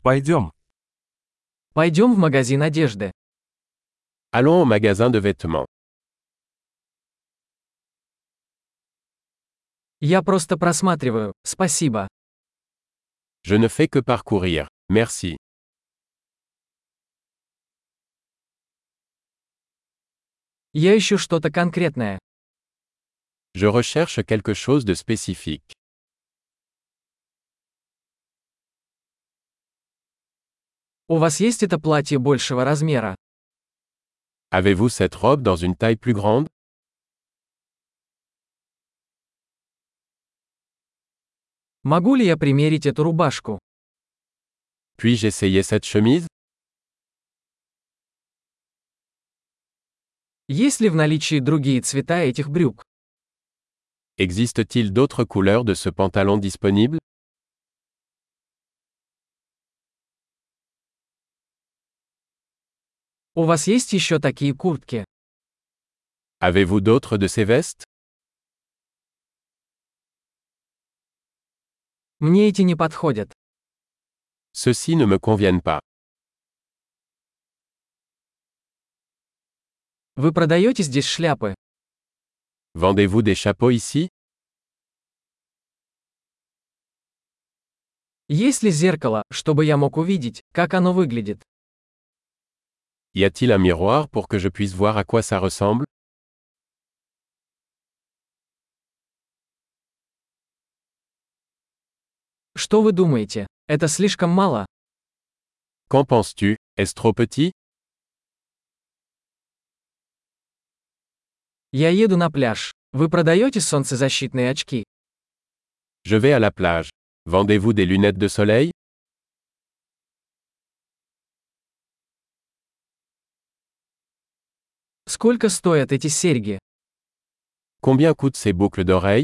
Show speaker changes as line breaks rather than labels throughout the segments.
Пойдем.
Пойдем в магазин одежды.
Allons au magasin de vêtements.
Я просто просматриваю, спасибо.
Je ne fais que parcourir. Merci.
Я ищу что-то конкретное.
Je recherche quelque chose de spécifique.
У вас есть это платье большего размера?
Avez-vous cette robe dans une taille plus grande?
Могу ли я примерить эту рубашку?
Puis-je essayer cette chemise?
Есть ли в наличии другие цвета этих брюк?
Existe-t-il d'autres couleurs de ce pantalon disponible?
У вас есть еще такие куртки?
Avez-vous d'autres de ces vestes?
Мне эти не подходят.
Ceux-ci ne me conviennent pas.
Вы продаете здесь шляпы?
Vendez-vous des chapeaux ici?
Есть ли зеркало, чтобы я мог увидеть, как оно выглядит?
Y a-t-il un miroir pour que je puisse voir à quoi ça ressemble?
Что вы думаете? Это слишком мало?
Qu'en penses-tu? Est-ce trop petit?
Я еду на пляж. Вы продаете солнцезащитные очки?
Je vais à la plage. Vendez-vous des lunettes de soleil?
Сколько стоят эти серьги?
Combien coûtent ces boucles d'oreilles?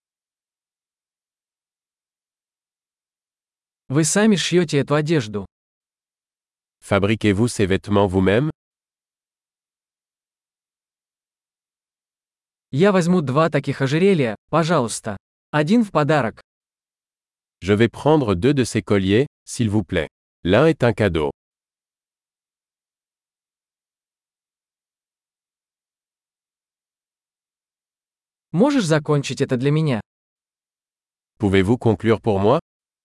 Вы сами шьете эту одежду.
Fabriquez-vous ces vêtements vous-même?
Я возьму 2 таких ожерелья, пожалуйста. Один в подарок.
Je vais prendre 2 de ces colliers, s'il vous plaît. L'un est un cadeau.
Можешь закончить это для меня?
Pouvez-vous conclure pour moi?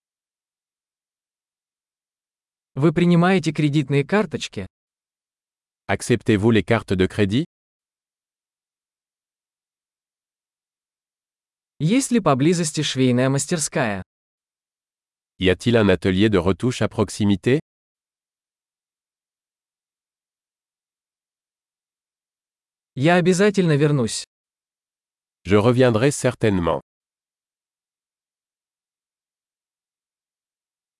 Вы принимаете кредитные карточки?
Acceptez-vous les cartes de crédit?
Есть ли поблизости швейная мастерская?
Y a-t-il un atelier de retouche à proximité?
Я обязательно вернусь.
Je reviendrai certainement.